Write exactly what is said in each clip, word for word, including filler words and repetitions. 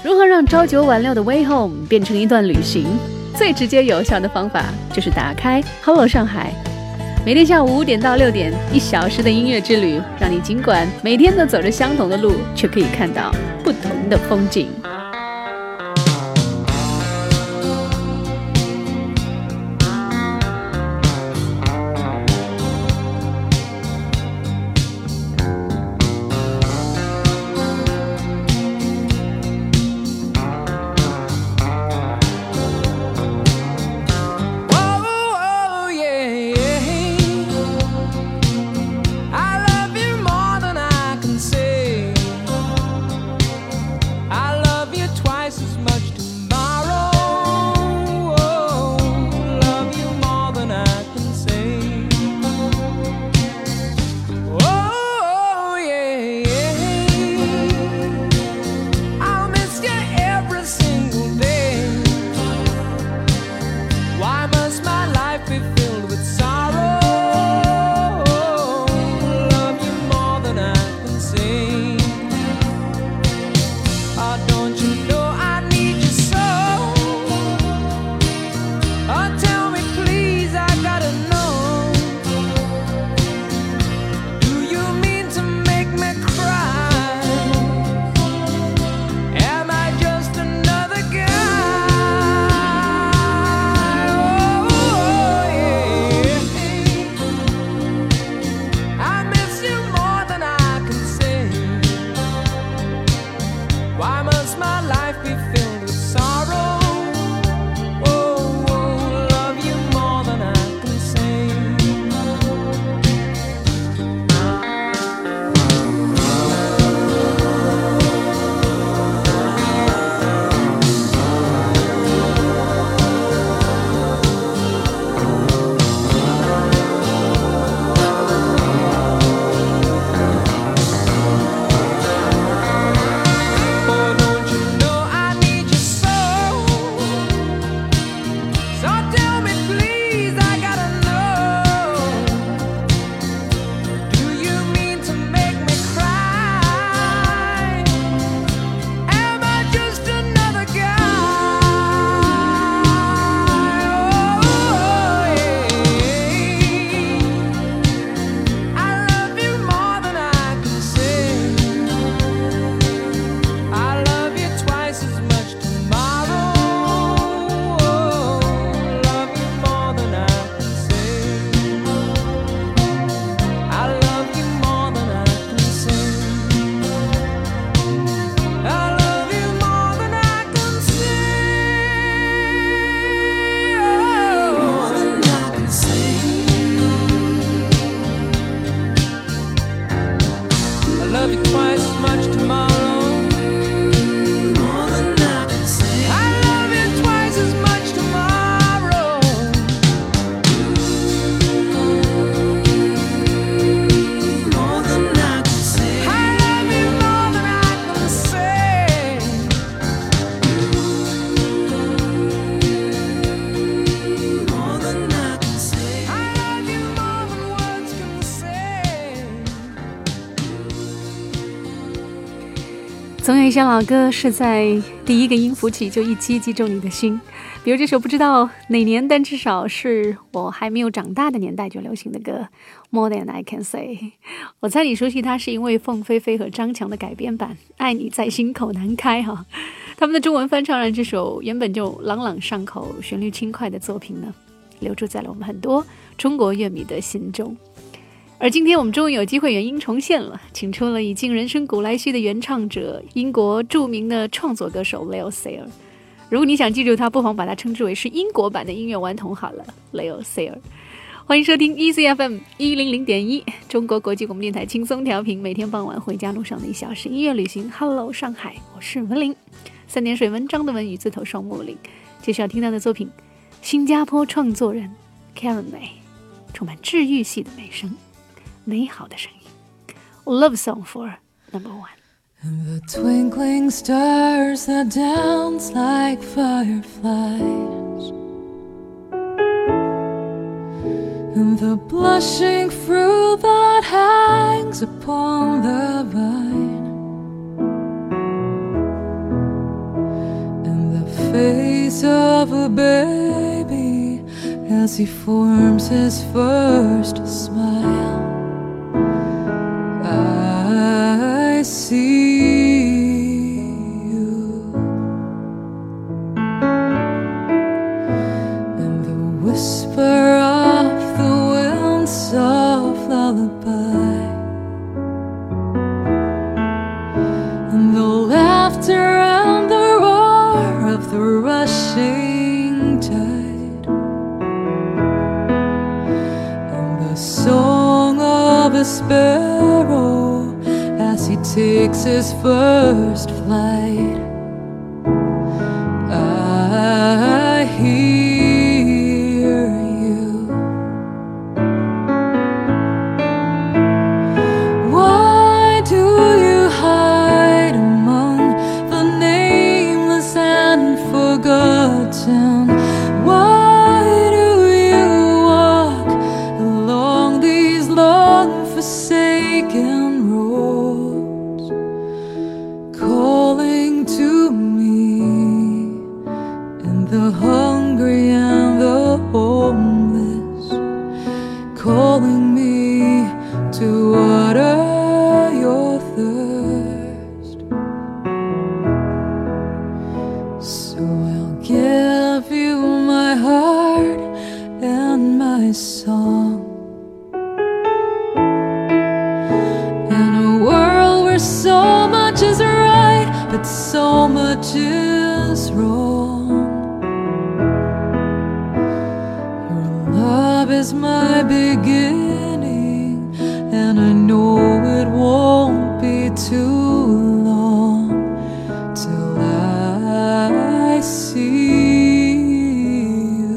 如何让朝九晚六的 Way Home 变成一段旅行？最直接有效的方法就是打开 Hello 上海，每天下午五点到六点，一小时的音乐之旅，让你尽管每天都走着相同的路，却可以看到不同的风景。总有一些老歌是在第一个音符起就一击击中你的心，比如这首不知道哪年，但至少是我还没有长大的年代就流行的歌 More Than I Can Say。 我猜你熟悉它是因为凤飞飞和张强的改编版爱你在心口难开哈。他们的中文翻唱让这首原本就朗朗上口旋律轻快的作品呢，留住在了我们很多中国乐迷的心中。而今天我们终于有机会原音重现了，请出了已经人生古来稀的原唱者，英国著名的创作歌手 Leo Sayer。 如果你想记住他，不妨把他称之为是英国版的音乐顽童好了， Leo Sayer。 欢迎收听 E C F M 一零零点一 中国国际广播电台轻松调频，每天傍晚回家路上的一小时音乐旅行。 Hello 上海，我是文玲，三点水文章的文，语字头双木林。接下来听到的作品，新加坡创作人 Karen May， 充满治愈系的美声，美好的声音。 Love Song for Number One。 And the twinkling stars that dance like fireflies, and the blushing fruit that hangs upon the vine, face of a baby as he forms his first smile. I see you in the whisper of the wind's soft lullaby, and the laughter and the roar of the rushing tide, and the song of a sparrow as he takes his first flight. I hear you. Why do you hide among the nameless and forgotten? Why do you walk along these long forsaken roads, calling to me and the hungry and the homeless, calling me to water your thirst? So I'll give you my heart and my song, in a world where so much is right but so much is wrong. Your love is my beginning, and I know it won't be too long till I see you.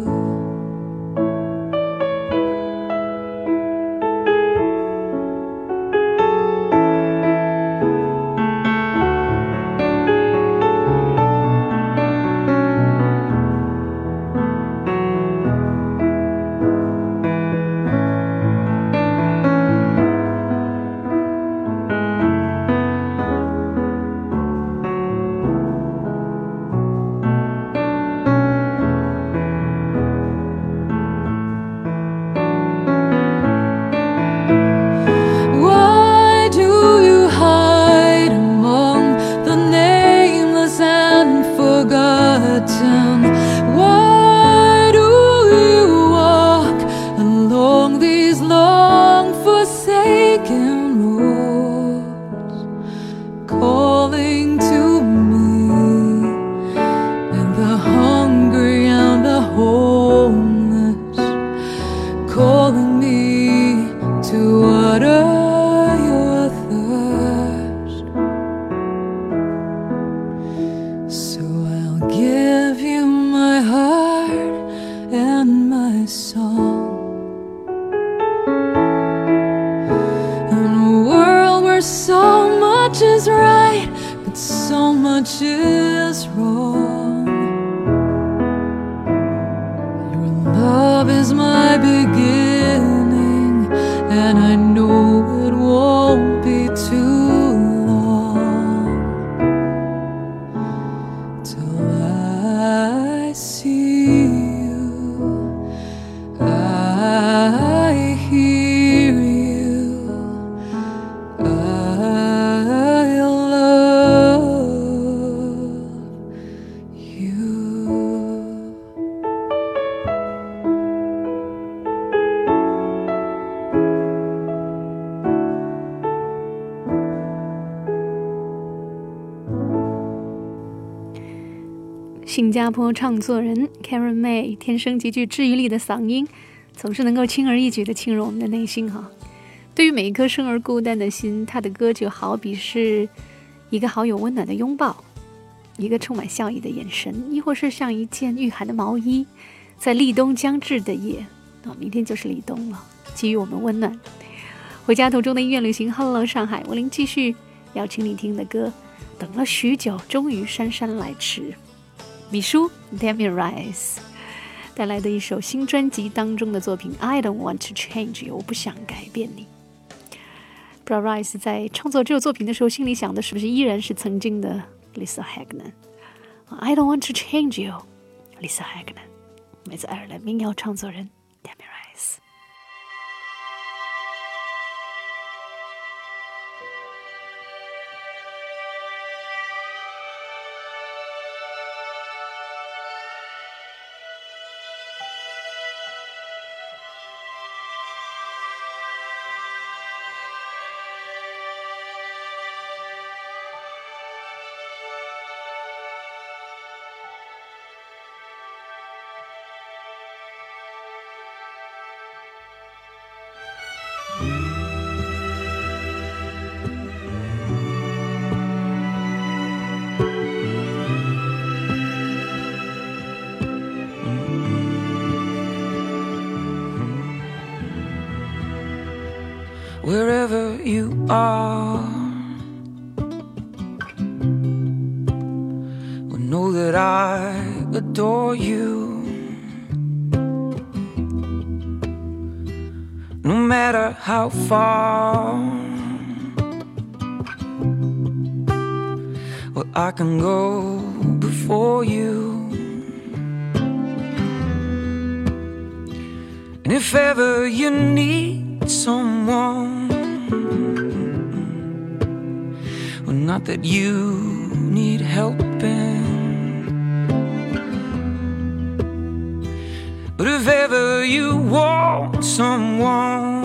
Why do you hide among the nameless and forgotten? Why do you walk along these long forsaken roads, calling to me and the hungry and the homeless, calling me to water your thirst? So I'll give you my heart and my song, in a world where so much is right but so much is wrong. Your love is my beginning, and I know it won't be too long till I see you. I hear you. I love you. 新加坡唱作人 Karen May 天生极具治愈力的嗓音，总是能够轻而易举地沁入我们的内心哈。对于每一颗生而孤单的心，他的歌就好比是一个好友温暖的拥抱，一个充满笑意的眼神，亦或是像一件御寒的毛衣，在立冬将至的夜，哦，明天就是立冬了，给予我们温暖。回家途中的音乐旅行 Hello 上海，我灵继续要请你听的歌，等了许久，终于姗姗来迟。米叔 Damien Rice 带来的一首新专辑当中的作品 I don't want to change you， 我不想改变你。不知道 Rice 在创作这首作品的时候，心里想的是不是依然是曾经的 Lisa Hagner？ I don't want to change you Lisa Hagner 来自爱尔兰民谣创作人 Tammy Rice。 Wherever you are, well, know that I adore you. No matter how far, well, I can go before you. And if ever you need someone, well, not that you need helping, but if ever you want someone,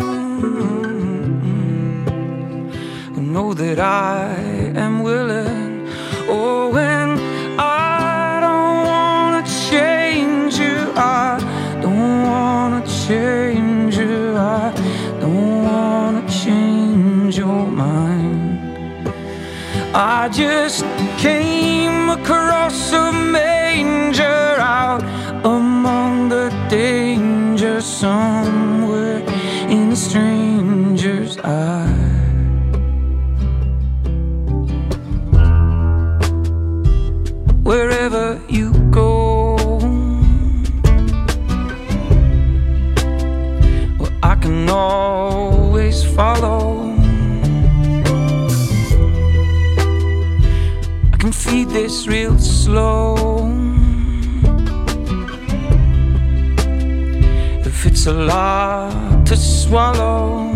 well, know that I am willing. Oh, and I don't wanna change you, I don't wanna change you, I don't wanna change your mind. I just came across a manger out among the danger somewhere in a stranger's eye. Wherever you go, well, I can always follow. I can feed this real slow. If it's a lot to swallow,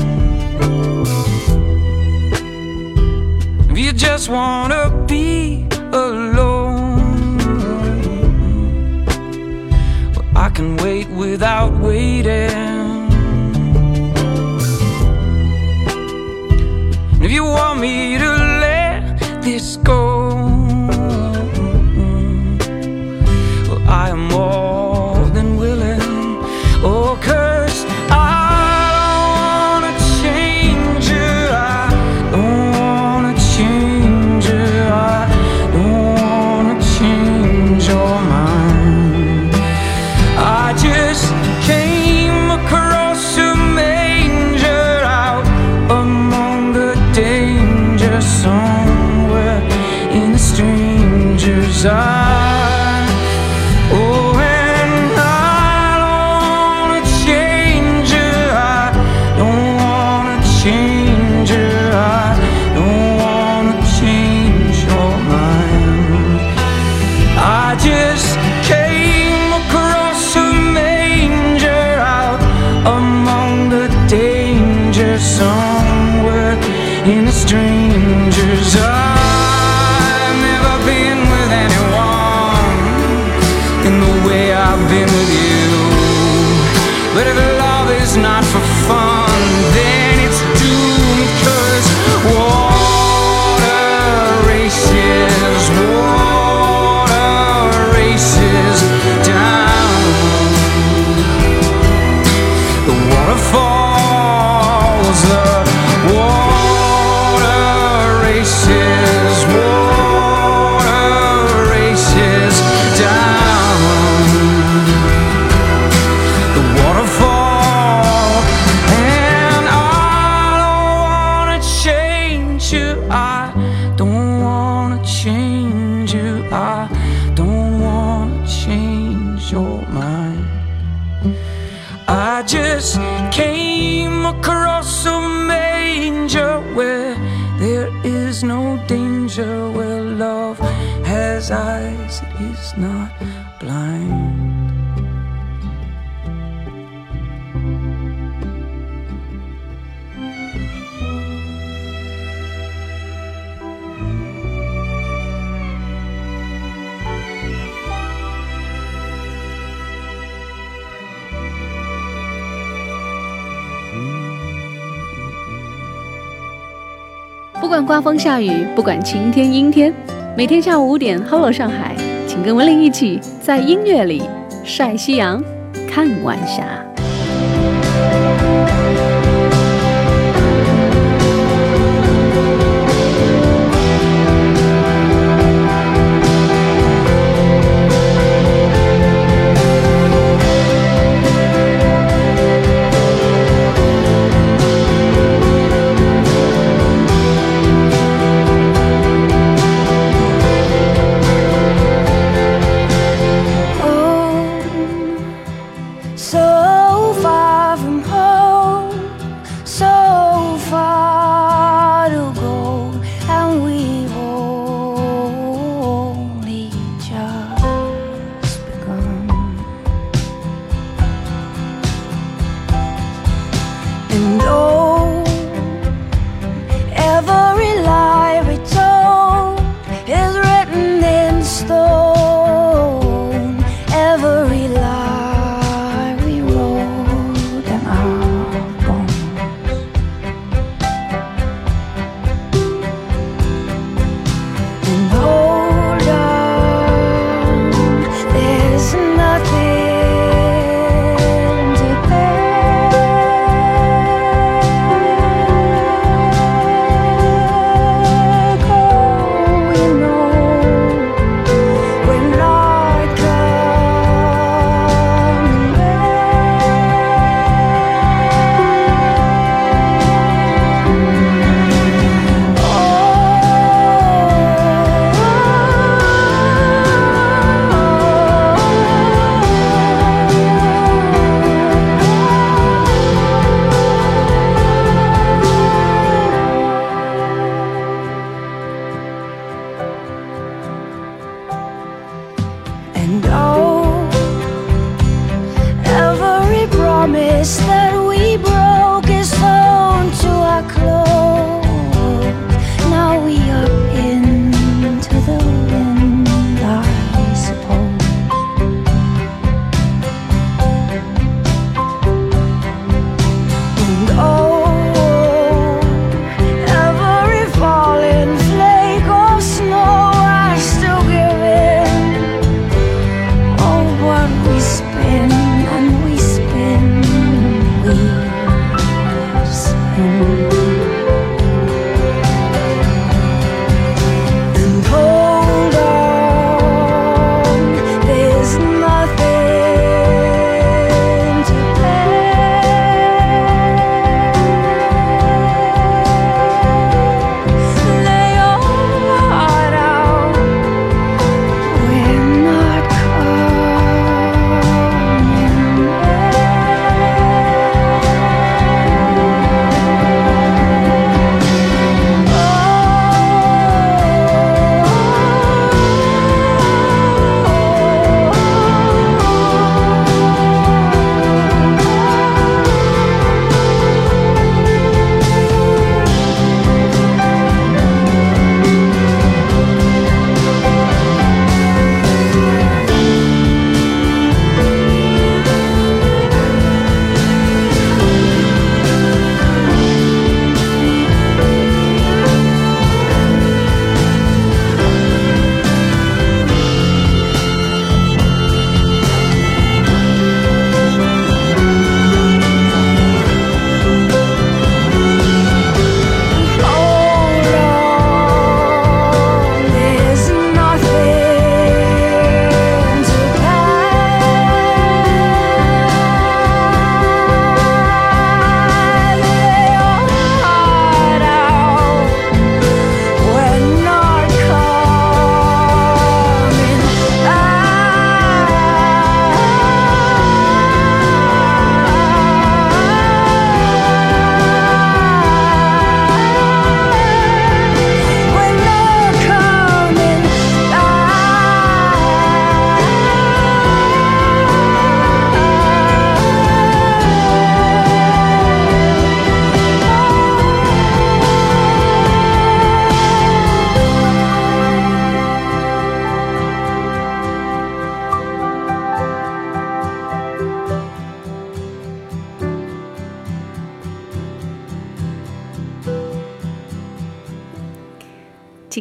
if you just wanna be alone, well, I can wait without waiting. And if you want me to let this go, well, I am more than willing. Oh, 'cause I don't wanna change you, I don't wanna change you, I don't wanna change your mind. I just came across a manger out among the danger somewhere in a stranger's eye. Oh, and I don't wanna change you, I don't wanna change you, I don't wanna change your mind. I just came across a manger out among the danger somewhere in a stranger's eye. I've never been with anyone in the way I've been with you, but if love is not for fun, then it's doomed. 'Cause water races, water races down. The waterfalls, the water races, water races down. The waterfall, and I don't wanna change you, I don't wanna change you, I don't wanna change your mind. I just came across a manger where there is no danger, where love has his eyes, it is not blind. 不管刮风下雨，不管晴天阴天，每天下午五点 Hello 上海，请跟文玲一起在音乐里晒夕阳看晚霞。 Spin and we spin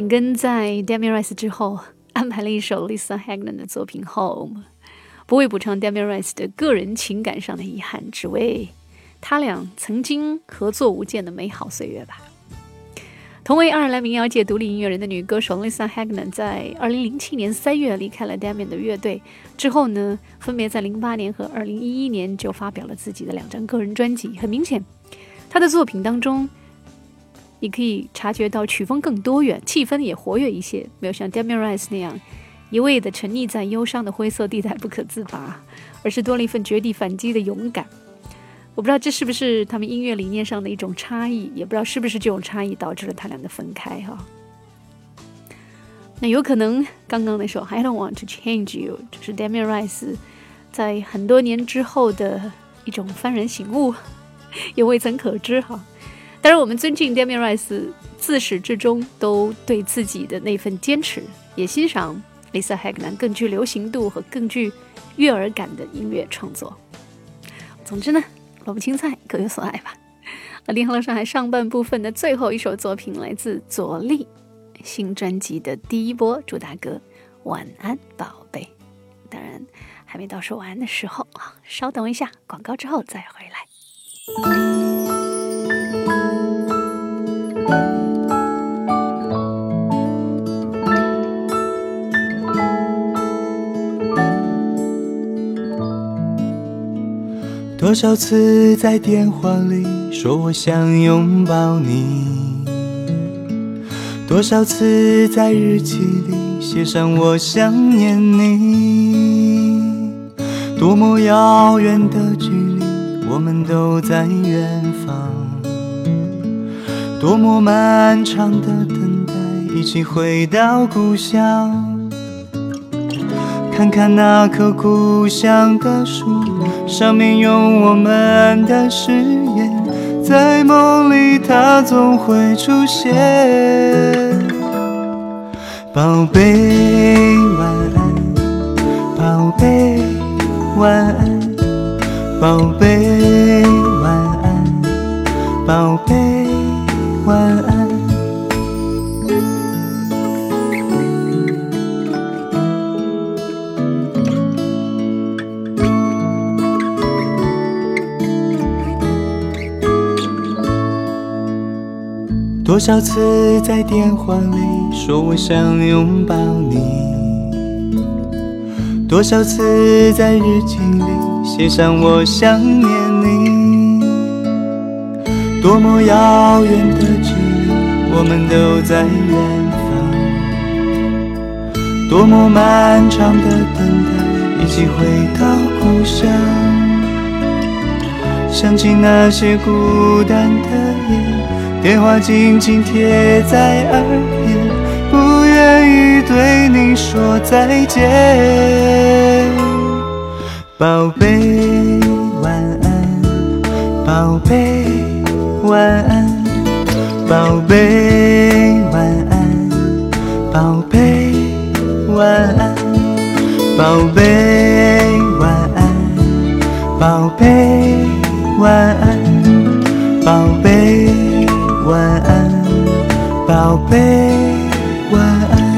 紧跟在 Damien Rice 之后安排了一首 Lisa Hagnon 的作品 Home， 不为补偿 Damien Rice 的个人情感上的遗憾，只为他俩曾经合作无间的美好岁月吧。同为爱尔兰民谣界独立音乐人的女歌手 Lisa Hagnon 在二零零七年三月离开了 Damien 的乐队之后呢，分别在零八年和二零一一年就发表了自己的两张个人专辑。很明显，她的作品当中你可以察觉到曲风更多元，气氛也活跃一些，没有像 Damien Rice 那样一味的沉溺在忧伤的灰色地带不可自拔，而是多了一份绝地反击的勇敢。我不知道这是不是他们音乐理念上的一种差异，也不知道是不是这种差异导致了他俩的分开哈。那有可能刚刚那首 I Don't Want to Change You 就是 Damien Rice 在很多年之后的一种幡然醒悟，也未曾可知哈。当然我们尊敬 Damien Rice 自始至终都对自己的那份坚持，也欣赏 Lisa Hagnon 更具流行度和更具悦耳感的音乐创作。总之呢，萝卜青菜各有所爱吧。而联合了上海上半部分的最后一首作品来自左立新专辑的第一波主打歌晚安宝贝。当然还没到说晚安的时候啊，稍等一下，广告之后再回来。 多少次在电话里说我想拥抱你，多少次在日记里写上我想念你，多么遥远的距离，我们都在远方，多么漫长的等待，一起回到故乡。看看那棵故乡的树，上面有我们的誓言，在梦里它总会出现。宝贝晚安，宝贝晚安，宝贝晚安，宝贝晚安。多少次在电话里说我想拥抱你，多少次在日记里写上我想念你，多么遥远的距离，我们都在远方，多么漫长的等待，一起回到故乡。想起那些孤单的夜，电话紧紧贴在耳边，不愿意对你说再见。宝贝晚安，宝贝晚安，宝贝晚安，宝贝晚安，宝贝晚安，宝贝晚安，宝贝晚安，宝贝晚安。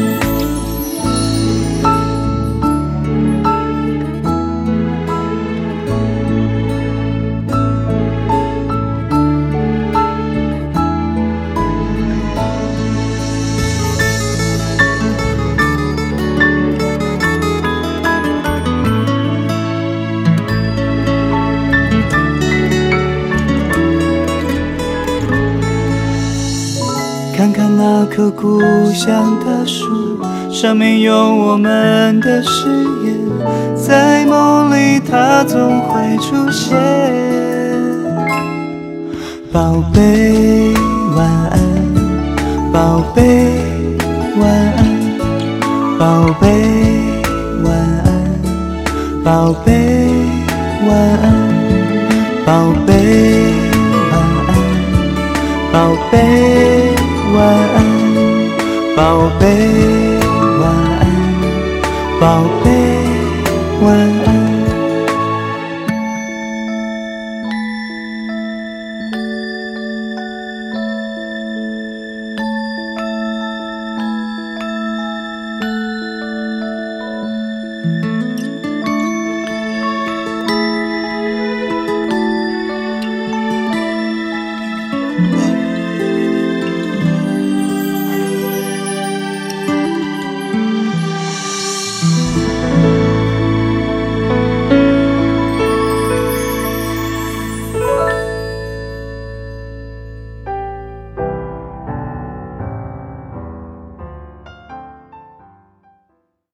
看看那棵故乡的树，上面有我们的誓言，在梦里它总会出现。宝贝晚安，宝贝晚安，宝贝晚安，宝贝晚安，宝贝晚安，宝贝晚安，宝贝晚安，宝贝晚安。